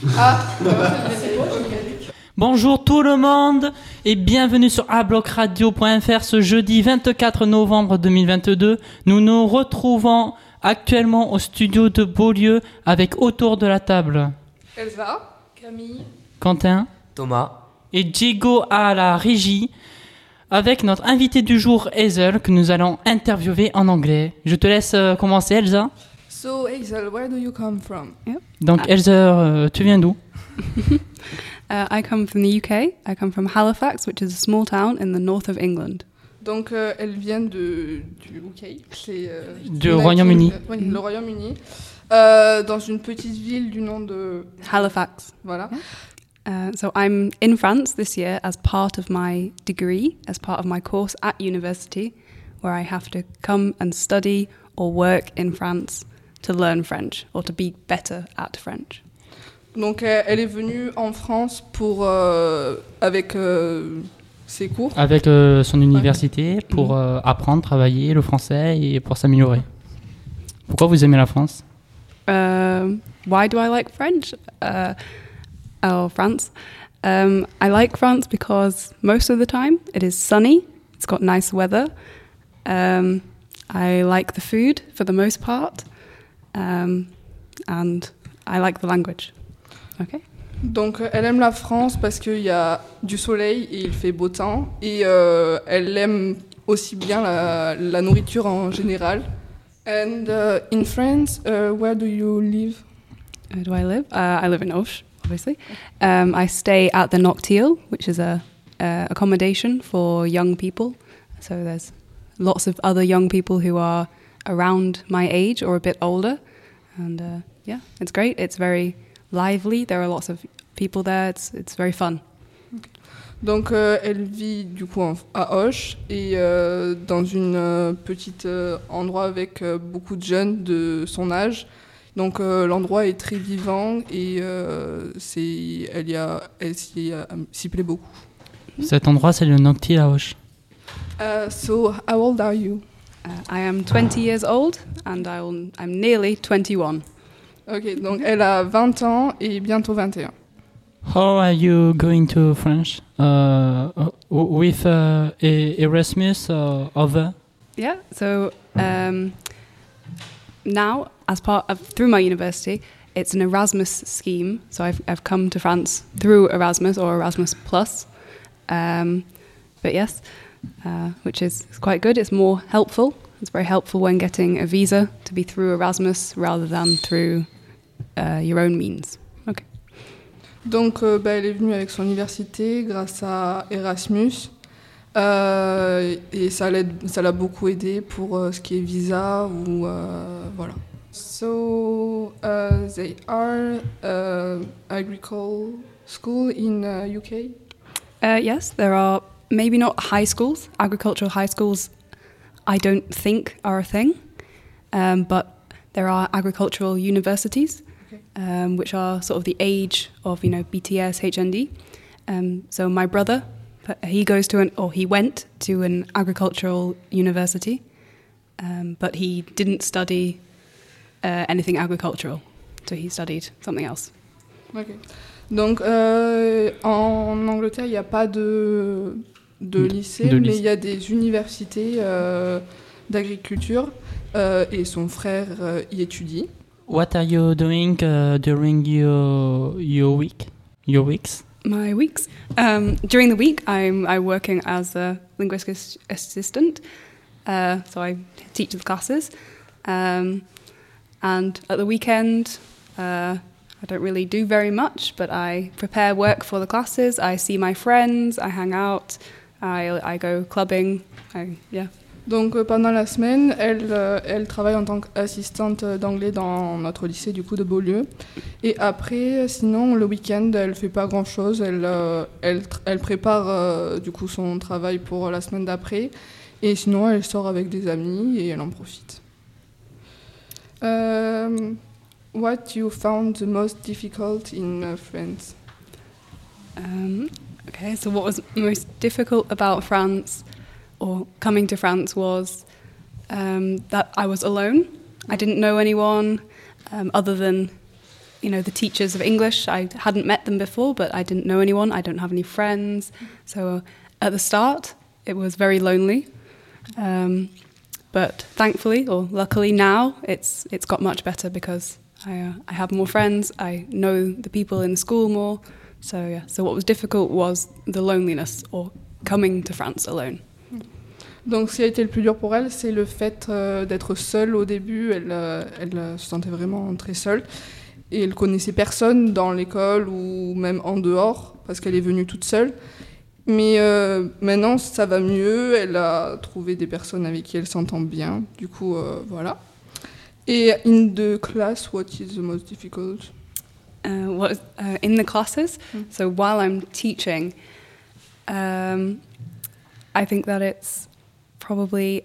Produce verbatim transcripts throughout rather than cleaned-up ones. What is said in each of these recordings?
Ah. Bonjour tout le monde et bienvenue sur a bloc radio point f r ce jeudi vingt-quatre novembre deux mille vingt-deux. Nous nous retrouvons actuellement au studio de Beaulieu avec autour de la table Elsa, Camille, Quentin, Thomas et Diego à la régie avec notre invité du jour Hazel que nous allons interviewer en anglais. Je te laisse commencer Elsa. So Hazel, where do you come from? Yep. Donc uh, Elsa, euh, tu viens d'où? uh, I come from the U K. I come from Halifax, which is a small town in the north of England. Donc euh, elle vient de, du U K, c'est euh, du Royaume-Uni. Euh, oui, le Royaume-Uni, euh, dans une petite ville du nom de Halifax. Voilà. Yeah. Uh, so I'm in France this year as part of my degree, as part of my course at university, where I have to come and study or work in France to learn French or to be better at French. Donc elle est venue en France pour euh, avec euh, ses cours. Avec euh, son université ouais. pour euh, apprendre, travailler le français et pour s'améliorer. Pourquoi vous aimez la France? Uh, why do I like French? Uh, oh, France. Um, I like France because most of the time it is sunny. It's got nice weather. Um, I like the food for the most part. Um, and I like the language. Okay. Donc elle aime la France parce qu'il y a du soleil et il fait beau temps. Et euh, elle aime aussi bien la, la nourriture en général. And uh, in France, uh, where do you live? Where do I live? Uh, I live in Auch, obviously. Um, I stay at the Noctil, which is a, a accommodation for young people. So there's lots of other young people who are around my age or a bit older. And uh, yeah, it's great. It's very lively. There are lots of people there. It's, it's very fun. Okay. Donc euh, elle vit du coup en, à Auch et euh, dans une euh, petite euh, endroit avec euh, beaucoup de jeunes de son âge. Donc euh, l'endroit est très vivant et euh, c'est, elle, y a, elle s'y, euh, s'y plaît beaucoup. Cet endroit c'est le Noctil à Auch. Uh, so how old are you? Uh, I am twenty years old and I will, I'm nearly twenty-one. Ok, donc elle a vingt ans et bientôt vingt et un. How are you going to France? Uh, with uh, Erasmus or other? Yeah, so um, now, as part of, through my university, it's an Erasmus scheme. So I've I've come to France through Erasmus or Erasmus Plus. Um, but yes, uh, which is quite good. It's more helpful. It's very helpful when getting a visa to be through Erasmus rather than through uh, your own means. Okay. Donc, euh, bah, elle est venue avec son université grâce à Erasmus euh, et ça, l'aide, ça l'a beaucoup aidé pour euh, ce qui est visa ou euh, voilà. So uh, they are uh, agricultural school in uh, U K. Uh, yes, there are maybe not high schools. Agricultural high schools, I don't think are a thing, um, but there are agricultural universities. Okay. Um, which are sort of the age of, you know, B T S, H N D. Um, so my brother, he goes to an, or he went to an agricultural university, um, but he didn't study uh, anything agricultural. So he studied something else. Okay. Donc euh, en Angleterre, il n'y a pas de, de lycée, de mais lycée. il y a des universités euh, d'agriculture euh, et son frère euh, y étudie. What are you doing uh, during your your week? Your weeks? My weeks. Um, during the week, I'm I'm working as a linguistic assistant. Uh, so I teach the classes. Um, and at the weekend, uh, I don't really do very much, but I prepare work for the classes. I see my friends. I hang out. I I go clubbing. I, yeah. Donc euh, pendant la semaine, elle, euh, elle travaille en tant qu'assistante d'anglais dans notre lycée du coup de Beaulieu. Et après, sinon le week-end, elle fait pas grand-chose. Elle, euh, elle, elle prépare euh, du coup son travail pour la semaine d'après. Et sinon, elle sort avec des amis et elle en profite. Um, what you found the most difficult in uh, France? Um, okay, so what was most difficult about France or coming to France was um, that I was alone. I didn't know anyone um, other than you know, the teachers of English. I hadn't met them before, but I didn't know anyone. I don't have any friends. So at the start, it was very lonely. Um, but thankfully, or luckily now, it's it's got much better because I, uh, I have more friends. I know the people in the school more. So yeah. So what was difficult was the loneliness or coming to France alone. Donc, ce qui a été le plus dur pour elle, c'est le fait euh, d'être seule au début. Elle, euh, elle euh, se sentait vraiment très seule. Et elle connaissait personne dans l'école ou même en dehors, parce qu'elle est venue toute seule. Mais euh, maintenant, ça va mieux. Elle a trouvé des personnes avec qui elle s'entend bien. Du coup, euh, voilà. Et in the class, what is the most difficult? Uh, what is, uh, in the classes? Mm. So while I'm teaching, um, I think that it's probably,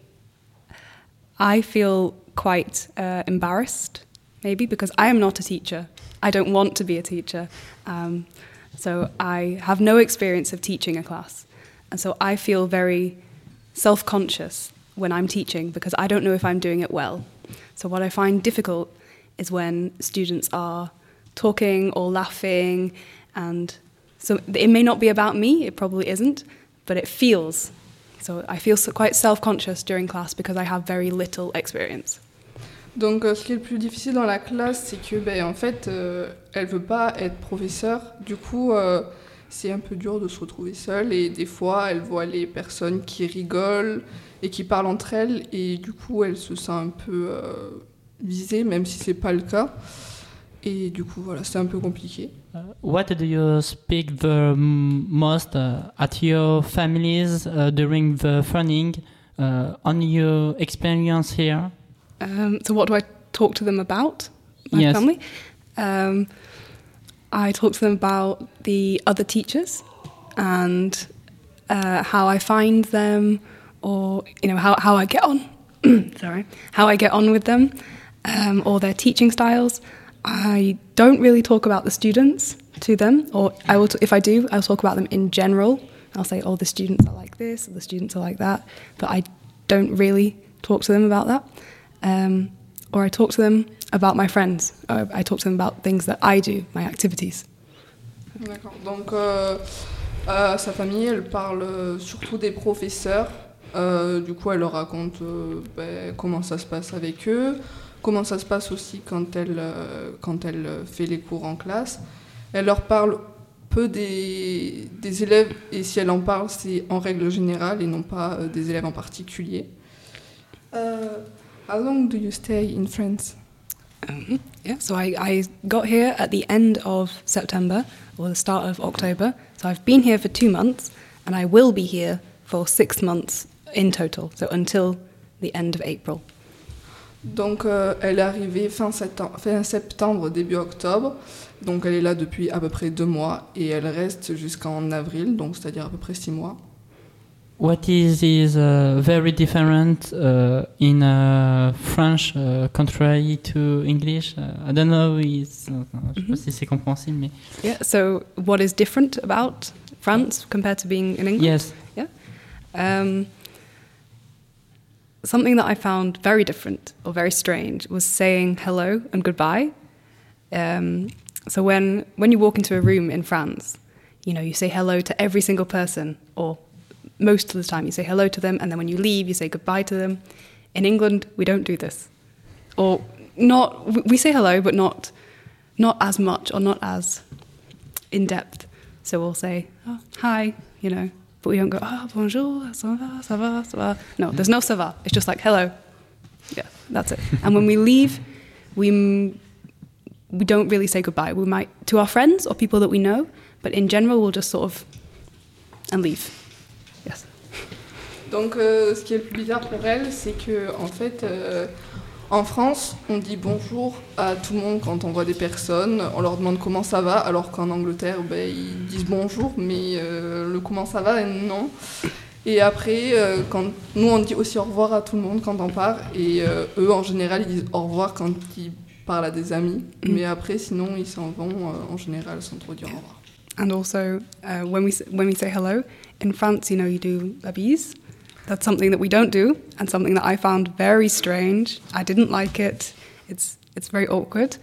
I feel quite uh, embarrassed, maybe, because I am not a teacher. I don't want to be a teacher. Um, so I have no experience of teaching a class. And so I feel very self-conscious when I'm teaching because I don't know if I'm doing it well. So what I find difficult is when students are talking or laughing, and so it may not be about me, it probably isn't, but it feels. So I feel so quite self-conscious during class because I have very little experience. Donc, euh, ce qui est le plus difficile dans la classe, c'est que, ben, en fait, euh, elle veut pas être professeure. Du coup, euh, c'est un peu dur de se retrouver seule. Et des fois, elle voit les personnes qui rigolent et qui parlent entre elles. Et du coup, elle se sent un peu euh, visée, même si c'est pas le cas. Et du coup, voilà, c'est un peu compliqué. Uh, what do you speak the most uh, at your families uh, during the funding uh, on your experience here? Um, so what do I talk to them about? My yes. family? Um, I talk to them about the other teachers and uh, how I find them, or you know how, how I get on. Sorry, how I get on with them, um, or their teaching styles. I don't really talk about the students to them, or I will. T- if I do, I'll talk about them in general. I'll say, "Oh, the students are like this, or the students are like that," but I don't really talk to them about that. Um, or I talk to them about my friends. Or I talk to them about things that I do, my activities. D'accord. Donc, euh, à sa famille, elle parle surtout des professeurs. Euh, du coup, elle leur raconte euh, ben, comment ça se passe avec eux, comment ça se passe aussi quand elle, euh, quand elle fait les cours en classe. Elle leur parle peu des, des élèves, et si elle en parle, c'est en règle générale et non pas euh, des élèves en particulier. Euh, how long do you stay in France? Um, yeah, so I, I got here at the end of September, or the start of October. So I've been here for two months, and I will be here for six months in total, so until the end of April. Donc, euh, elle est arrivée fin septembre, fin septembre, début octobre. Donc, elle est là depuis à peu près deux mois et elle reste jusqu'en avril, donc c'est-à-dire à peu près six mois. What is is uh, very different uh, in uh, French uh, contrary to English? Uh, I don't know. It's, uh, je sais pas si c'est compréhensible, mais Yeah. So what is different about France compared to being in England? yes. Yeah. Um, something that I found very different or very strange was saying hello and goodbye. Um, so when when you walk into a room in France, you know, you say hello to every single person, or most of the time you say hello to them, and then when you leave, you say goodbye to them. In England, we don't do this, or not. We say hello, but not not as much or not as in depth. So we'll say oh, hi, you know, but we don't go ah oh, bonjour, ça va, ça va, ça va. No, there's no ça va. It's just like hello. Yeah, that's it. And when we leave, we we don't really say goodbye. We might to our friends or people that we know, but in general, we'll just sort of and leave. Yes. Donc, euh, ce qui est le plus bizarre pour elle, c'est que en fait, euh, en France, on dit bonjour à tout le monde quand on voit des personnes. On leur demande comment ça va, alors qu'en Angleterre, ben, ils disent bonjour, mais euh, le comment ça va, non. Et après, euh, quand nous, on dit aussi au revoir à tout le monde quand on part, et euh, eux, en général, ils disent au revoir quand ils parlent à des amis. Mm. Mais après, sinon, ils s'en vont euh, en général sans trop dire au revoir. And also, uh, when we when we say hello in France, you know, you do la bise. That's something that we don't do, and something that I found very strange. I didn't like it. It's it's very awkward.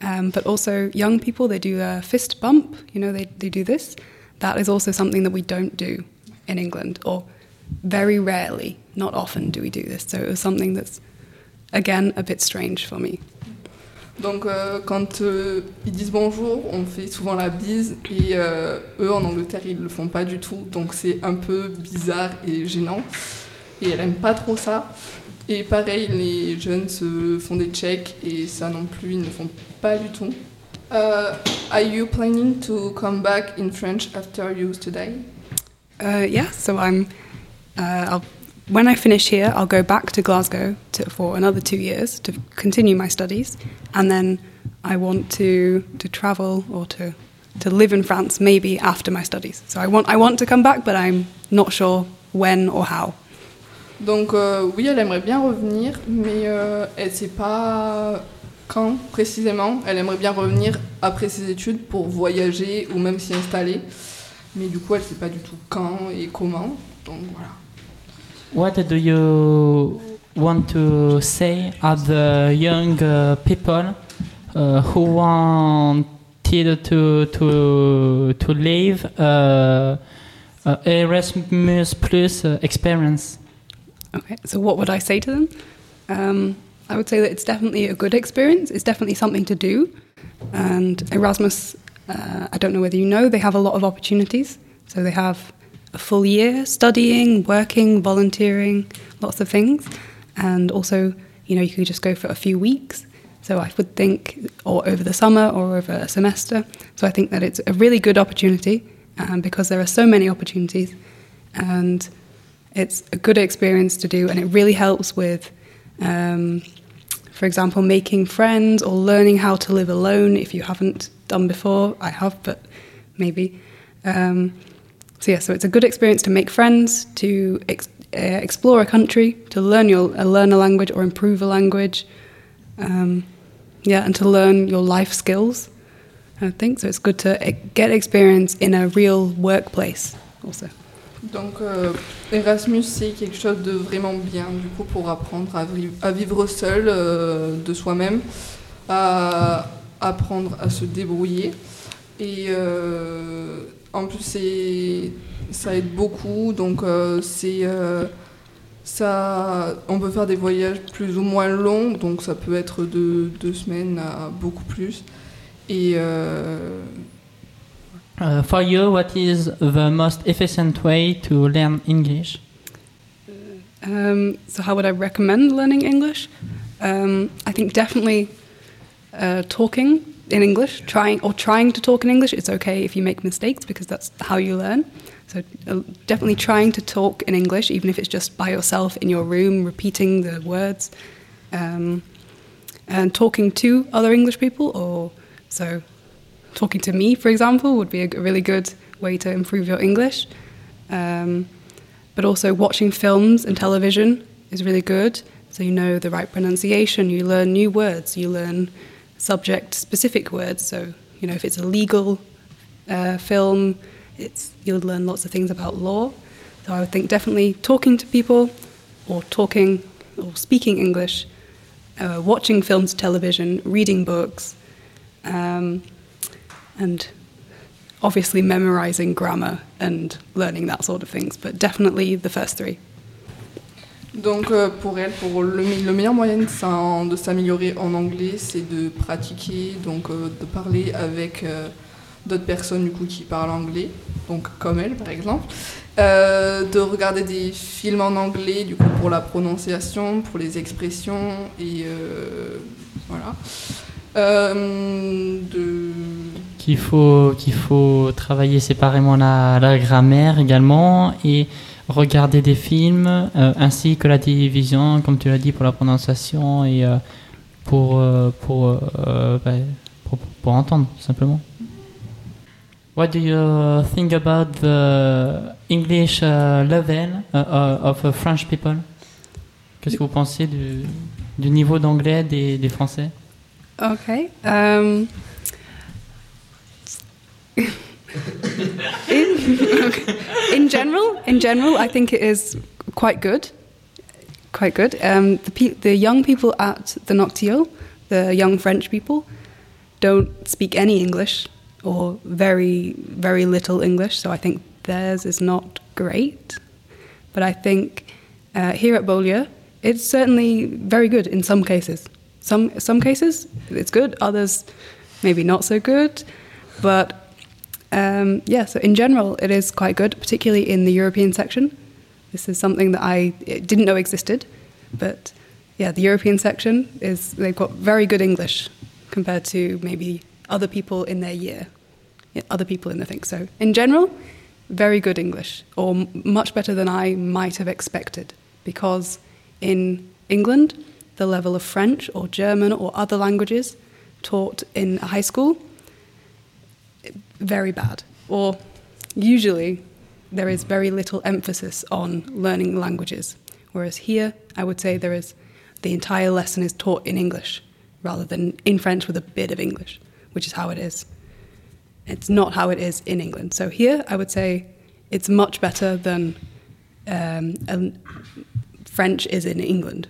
Um, but also young people, they do a fist bump, you know, they, they do this. That is also something that we don't do in England, or very rarely, not often do we do this. So it was something that's, again, a bit strange for me. Donc euh, quand euh, ils disent bonjour, on fait souvent la bise et euh, eux en Angleterre ils le font pas du tout, donc c'est un peu bizarre et gênant et elle aime pas trop ça. Et pareil, les jeunes se font des checks et ça non plus ils ne font pas du tout. Uh, are you planning to come back in French after you study? Uh, yeah, so I'm. Uh, I'll, when I finish here, I'll go back to Glasgow to, for another two years to continue my studies, and then I want to to travel or to to live in France maybe after my studies. So I want I want to come back, but I'm not sure when or how. Donc euh, oui, elle aimerait bien revenir, mais euh, elle ne sait pas quand précisément. Elle aimerait bien revenir après ses études pour voyager ou même s'y installer. Mais du coup, elle ne sait pas du tout quand et comment. Donc voilà. What do you want to say at the young uh, people uh, who wanted to to to live uh, uh, Erasmus Plus uh, experience? Okay, so what would I say to them? Um, I would say that it's definitely a good experience. It's definitely something to do. And Erasmus, uh, I don't know whether you know, they have a lot of opportunities. So they have a full year studying, working, volunteering, lots of things. And also, you know, you could just go for a few weeks. So I would think, or over the summer or over a semester. So I think that it's a really good opportunity um, because there are so many opportunities. And it's a good experience to do, and it really helps with, um, for example, making friends or learning how to live alone if you haven't done before. I have, but maybe. Um, so yeah, so it's a good experience to make friends, to ex- uh, explore a country, to learn your uh, learn a language or improve a language, um, yeah, and to learn your life skills. I think so. It's good to uh, get experience in a real workplace also. Donc euh, Erasmus, c'est quelque chose de vraiment bien du coup pour apprendre à, vri- à vivre seul euh, de soi-même, à apprendre à se débrouiller et euh, en plus c'est, ça aide beaucoup, donc euh, c'est, euh, ça, on peut faire des voyages plus ou moins longs, donc ça peut être de deux semaines à beaucoup plus et euh, Uh, for you, what is the most efficient way to learn English? Um, so how would I recommend learning English? Um, I think definitely uh, talking in English, trying or trying to talk in English. It's okay if you make mistakes because that's how you learn. So uh, definitely trying to talk in English, even if it's just by yourself in your room, repeating the words, um, and talking to other English people. Or so. Talking to me, for example, would be a really good way to improve your English. Um, but also watching films and television is really good. So you know the right pronunciation, you learn new words, you learn subject-specific words. So, you know, if it's a legal uh, film, it's you'll learn lots of things about law. So I would think definitely talking to people or talking or speaking English, uh, watching films, television, reading books, um, and obviously memorizing grammar and learning that sort of things, but definitely the first three. Donc euh, pour elle, pour le, le meilleur moyen de, s'en, de s'améliorer en anglais, c'est de pratiquer, donc euh, de parler avec euh, d'autres personnes du coup qui parlent anglais, donc comme elle par exemple, euh, de regarder des films en anglais du coup pour la prononciation, pour les expressions et euh, voilà. Euh, de... Qu'il faut, qu'il faut travailler séparément la, la grammaire également et regarder des films euh, ainsi que la télévision, comme tu l'as dit, pour la prononciation et euh, pour, euh, pour, euh, bah, pour, pour entendre, tout simplement. What do you think about the English uh, level uh, uh, of uh, French people? Qu'est-ce que vous pensez du, du niveau d'anglais des, des Français? Okay. Um, in, in general, in general, I think it is quite good. Quite good. Um, the pe- the young people at the Noctil, the young French people, don't speak any English or very, very little English, so I think theirs is not great. But I think uh, here at Beaulieu, it's certainly very good in some cases. Some some cases it's good, others maybe not so good. But um, yeah, so in general it is quite good, particularly in the European section. This is something that I didn't know existed, but yeah, the European section is, they've got very good English compared to maybe other people in their year, other people in the thing. So in general, very good English, or m- much better than I might have expected, because in England, the level of French or German or other languages taught in a high school, very bad. Or usually there is very little emphasis on learning languages, whereas here I would say there is, the entire lesson is taught in English rather than in French with a bit of English, which is how it is. It's not how it is in England. So here I would say it's much better than um, um, French is in England.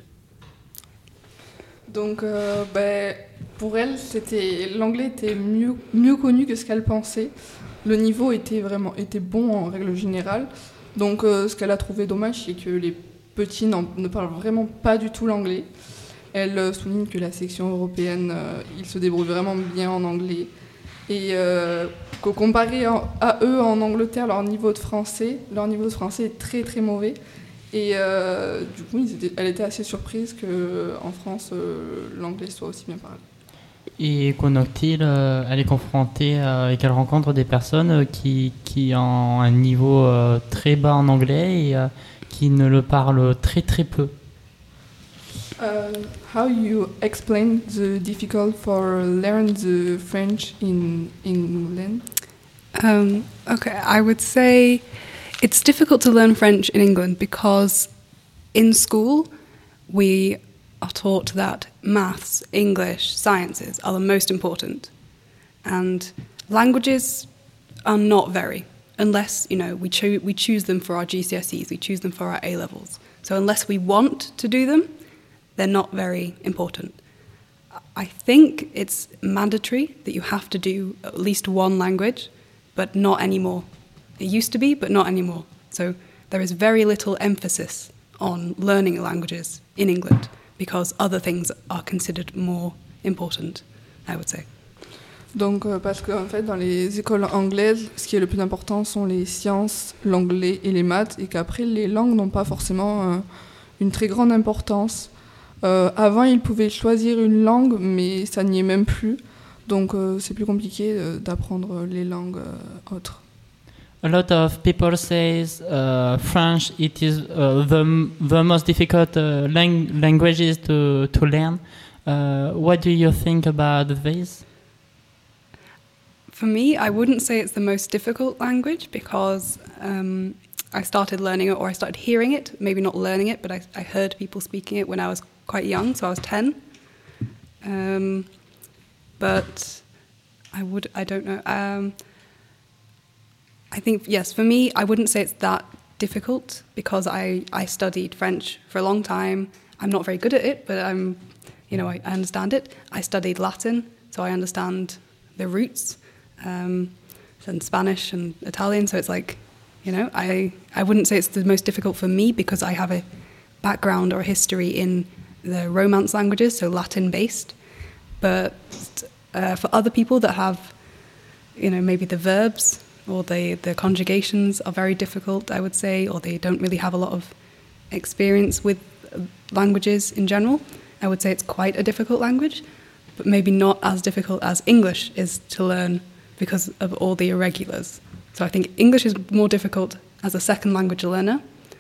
Donc, euh, ben, pour elle, c'était, l'anglais était mieux, mieux connu que ce qu'elle pensait. Le niveau était vraiment était bon en règle générale. Donc, euh, ce qu'elle a trouvé dommage, c'est que les petits ne parlent vraiment pas du tout l'anglais. Elle euh, souligne que la section européenne, euh, ils se débrouillent vraiment bien en anglais. Et euh, qu'au comparé à, à eux en Angleterre, leur niveau de français, leur niveau de français est très très mauvais. Et euh, du coup, ils étaient, elle était assez surprise qu'en France, euh, l'anglais soit aussi bien parlé. Et Konoktil, euh, elle est confrontée euh, et qu'elle rencontre des personnes euh, qui, qui ont un niveau euh, très bas en anglais et euh, qui ne le parlent très très peu. Uh, how you explain the difficult for learn the French in England? Um, okay, I would say it's difficult to learn French in England because in school we are taught that maths, English, sciences are the most important, and languages are not very, unless, you know, we, cho- we choose them for our G C S Es, we choose them for our A-levels. So unless we want to do them, they're not very important. I think it's mandatory that you have to do at least one language, but not anymore. It used to be, but not anymore. So there is very little emphasis on learning languages in England because other things are considered more important, I would say. Donc, euh, parce qu'en fait, dans les écoles anglaises, ce qui est le plus important sont les sciences, l'anglais et les maths, et qu'après, les langues n'ont pas forcément euh, une très grande importance. Euh, avant, ils pouvaient choisir une langue, mais ça n'y est même plus. Donc, euh, c'est plus compliqué euh, d'apprendre les langues euh, autres. A lot of people say uh, French it is uh, the the most difficult uh, lang- languages to to learn. Uh, what do you think about this? For me, I wouldn't say it's the most difficult language because um, I started learning it, or I started hearing it, maybe not learning it, but I, I heard people speaking it when I was quite young, so I was ten. Um, but I would, I don't know. Um, I think, yes, for me, I wouldn't say it's that difficult because I, I studied French for a long time. I'm not very good at it, but I'm, you know, I, I understand it. I studied Latin, so I understand the roots, um, and Spanish and Italian, so it's like, you know, I, I wouldn't say it's the most difficult for me because I have a background or a history in the Romance languages, so Latin-based. But uh, for other people that have, you know, maybe the verbs or the, the conjugations are very difficult, I would say, or they don't really have a lot of experience with languages in general, I would say it's quite a difficult language, but maybe not as difficult as English is to learn because of all the irregulars. So I think English is more difficult as a second language learner,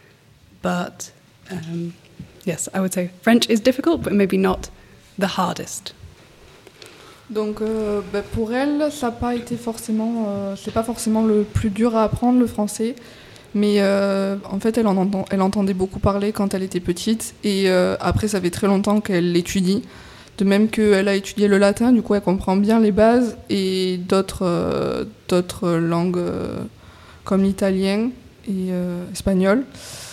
but um, yes, I would say French is difficult, but maybe not the hardest. Donc, euh, bah pour elle, ça n'a pas été forcément, euh, c'est pas forcément le plus dur à apprendre le français, mais euh, en fait, elle en entend, elle entendait beaucoup parler quand elle était petite, et euh, après, ça fait très longtemps qu'elle l'étudie. De même qu'elle a étudié le latin, du coup, elle comprend bien les bases et d'autres, euh, d'autres langues euh, comme l'italien et euh, espagnol.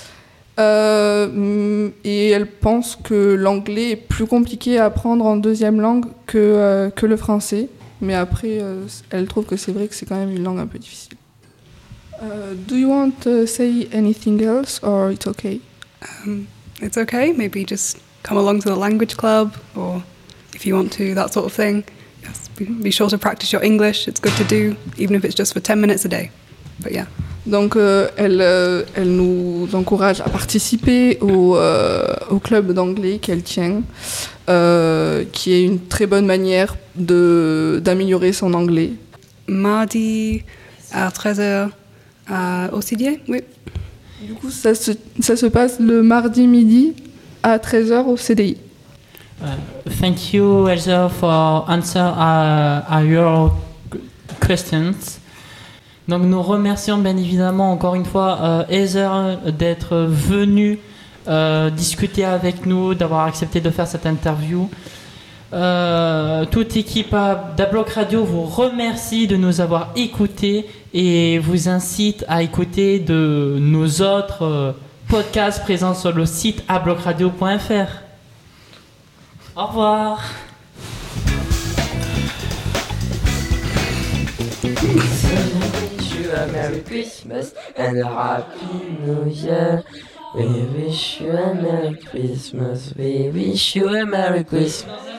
Euh, et elle pense que l'anglais est plus compliqué à apprendre en deuxième langue que, euh, que le français. Mais après, euh, elle trouve que c'est vrai que c'est quand même une langue un peu difficile. Uh, do you want to say anything else or it's okay? Um, it's okay. Maybe just come along to the language club, or if you want to, that sort of thing. Yes, be, be sure to practice your English. It's good to do, even if it's just for ten minutes a day. But yeah. Donc euh, elle, euh, elle nous encourage à participer au, euh, au club d'anglais qu'elle tient, euh, qui est une très bonne manière de, d'améliorer son anglais. Mardi à treize heures à au C D A, oui. Du coup, ça se, ça se passe le mardi midi à treize heures au C D I. Uh, thank you, Elsa, for answer uh, uh, your questions. Donc nous remercions bien évidemment encore une fois euh, Heather d'être venue euh, discuter avec nous, d'avoir accepté de faire cette interview. Euh, toute équipe d'Abloc Radio vous remercie de nous avoir écoutés et vous incite à écouter de nos autres euh, podcasts présents sur le site abloc radio point f r. Au revoir. A Merry Christmas and a Happy New Year. We wish you a Merry Christmas. We wish you a Merry Christmas.